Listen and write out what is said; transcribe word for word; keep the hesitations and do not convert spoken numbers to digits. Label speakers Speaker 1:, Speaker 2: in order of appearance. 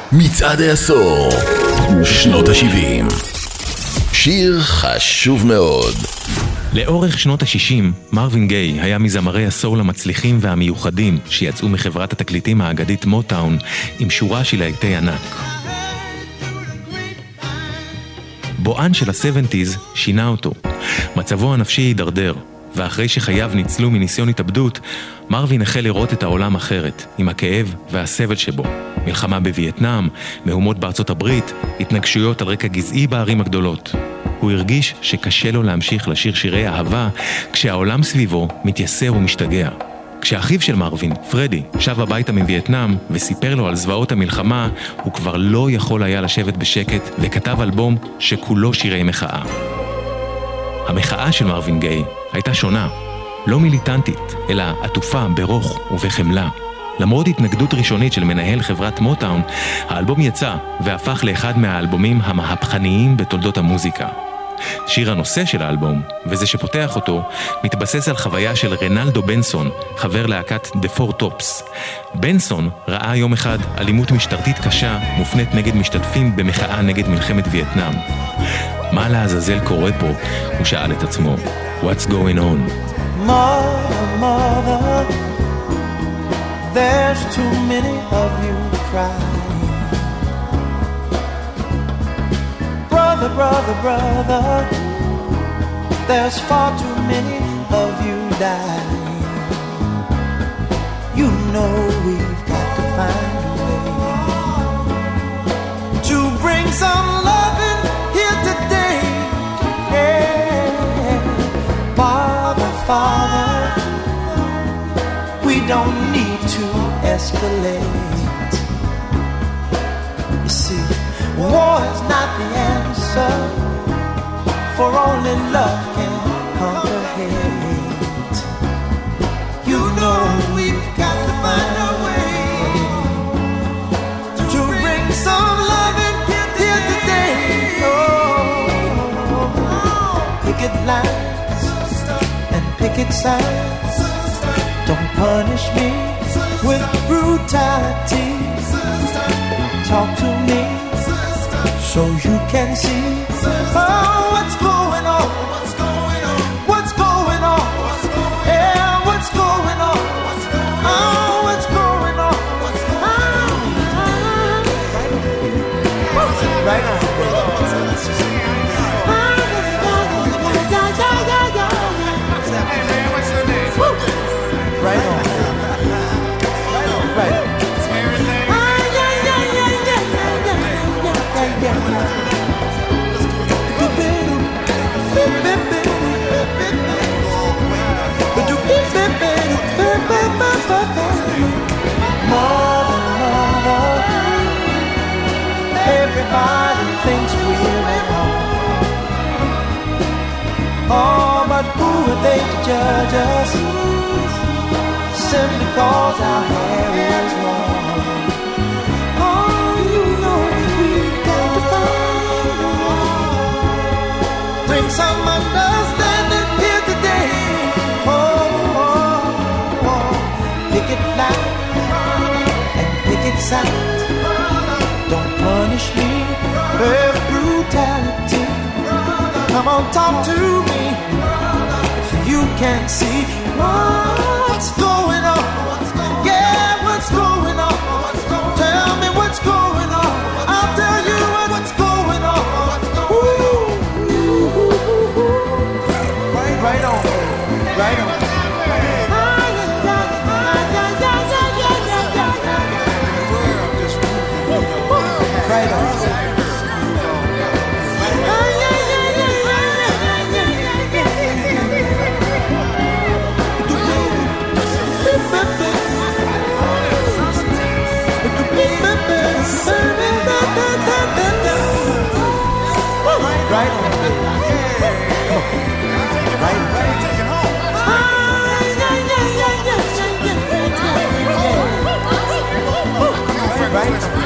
Speaker 1: מצעד העשור, שנות ה-שבעים. שיר חשוב מאוד.
Speaker 2: לאורך שנות ה-שישים, מרווין גיי היה מזמרי הסול המצליחים והמיוחדים שיצאו מחברת התקליטים האגדית מוטאון עם שורה של להיטי ענק. בואן של ה-שבעים שינה אותו. מצבו הנפשי הידרדר, ואחרי שחייו ניצלו מניסיון התאבדות, מרווין החל לראות את העולם אחרת, עם הכאב והסבל שבו. מלחמה בווייטנאם, מהומות בארצות הברית, התנגשויות על רקע גזעי בערים הגדולות. הוא הרגיש שקשה לו להמשיך לשיר שירי אהבה, כשהעולם סביבו מתייסר ומשתגע. כשאחיו של מרווין, פרדי, שב הביתה מווייטנאם וסיפר לו על זוועות המלחמה, הוא כבר לא יכול היה לשבת בשקט וכתב אלבום שכולו שירי מחאה. המחאה של מרווין גיי הייתה שונה, לא מיליטנטית, אלא עטופה ברוך ובחמלה. למרות התנגדות ראשונית של מנהל חברת מוטאון, האלבום יצא והפך לאחד מהאלבומים המהפכניים בתולדות המוזיקה. שיר הנושא של האלבום, וזה שפותח אותו, מתבסס על חוויה של רנלדו בנסון, חבר להקת The Four Tops. בנסון ראה יום אחד אלימות משטרתית קשה מופנית נגד משתתפים במחאה נגד מלחמת וייטנאם. מה לעזאזל קורה פה? הוא שאל את עצמו. What's going on?
Speaker 3: Mother, mother, there's too many of you crying. Brother, brother, brother, there's far too many of you dying. You know we've got to find a way to bring some love in here today. Yeah. Father, Father, we don't need to escalate. You see, war is not the answer, for only love can conquer hate. You know we've got to find a way to bring some love in here today. Oh, picket lines and picket signs, don't punish me with brutality. Talk to me so you can see, oh, what's going on, what's going on, what's going on, yeah, what's going on, oh, what's going on, oh, right on, hey man, what's your name? Right on, right on, right on. Mother, mother, everybody thinks we're wrong. Oh, but who are they to judge us simply cause our hair is long? Oh, you know we've got to find a way. Bring some understanding here today. Oh, oh, oh. Picket line and picket sign, don't punish me with brutality. Come on, talk to me so you can see what's going on. Yeah, what's going on? Tell me what's going on. I'll tell you what's going on. Ooh. Right on, right on. Right on. Right on. Come on. Right on. Right on.